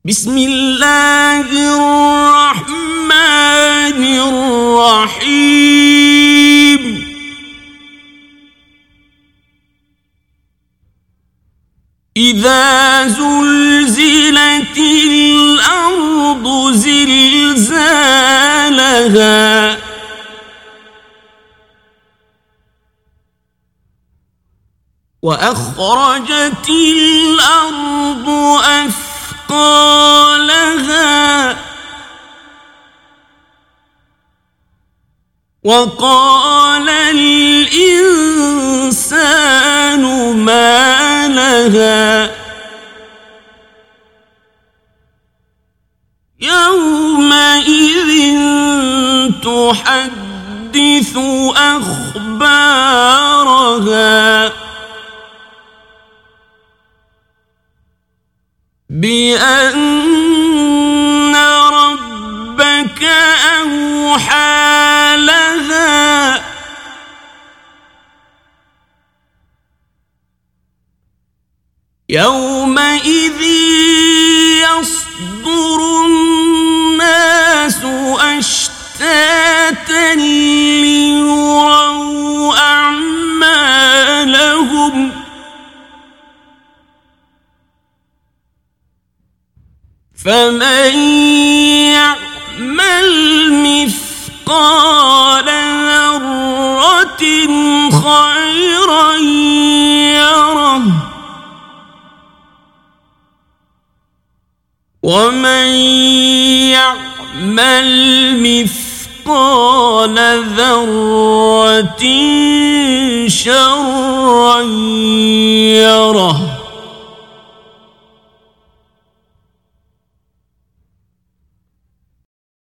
بسم الله الرحمن الرحيم إذا زلزلت الأرض زلزالها وأخرجت الأرض أثقالها وقال الإنسان ما لها يومئذ تحدث أخبارها بأن ربك أوحى لها يومئذ يصدر الناس أشتاتا ليروا أعمالهم فمن يعمل مثقال ذرة خيرا يره ومن يعمل مثقال ذرة شرا يره.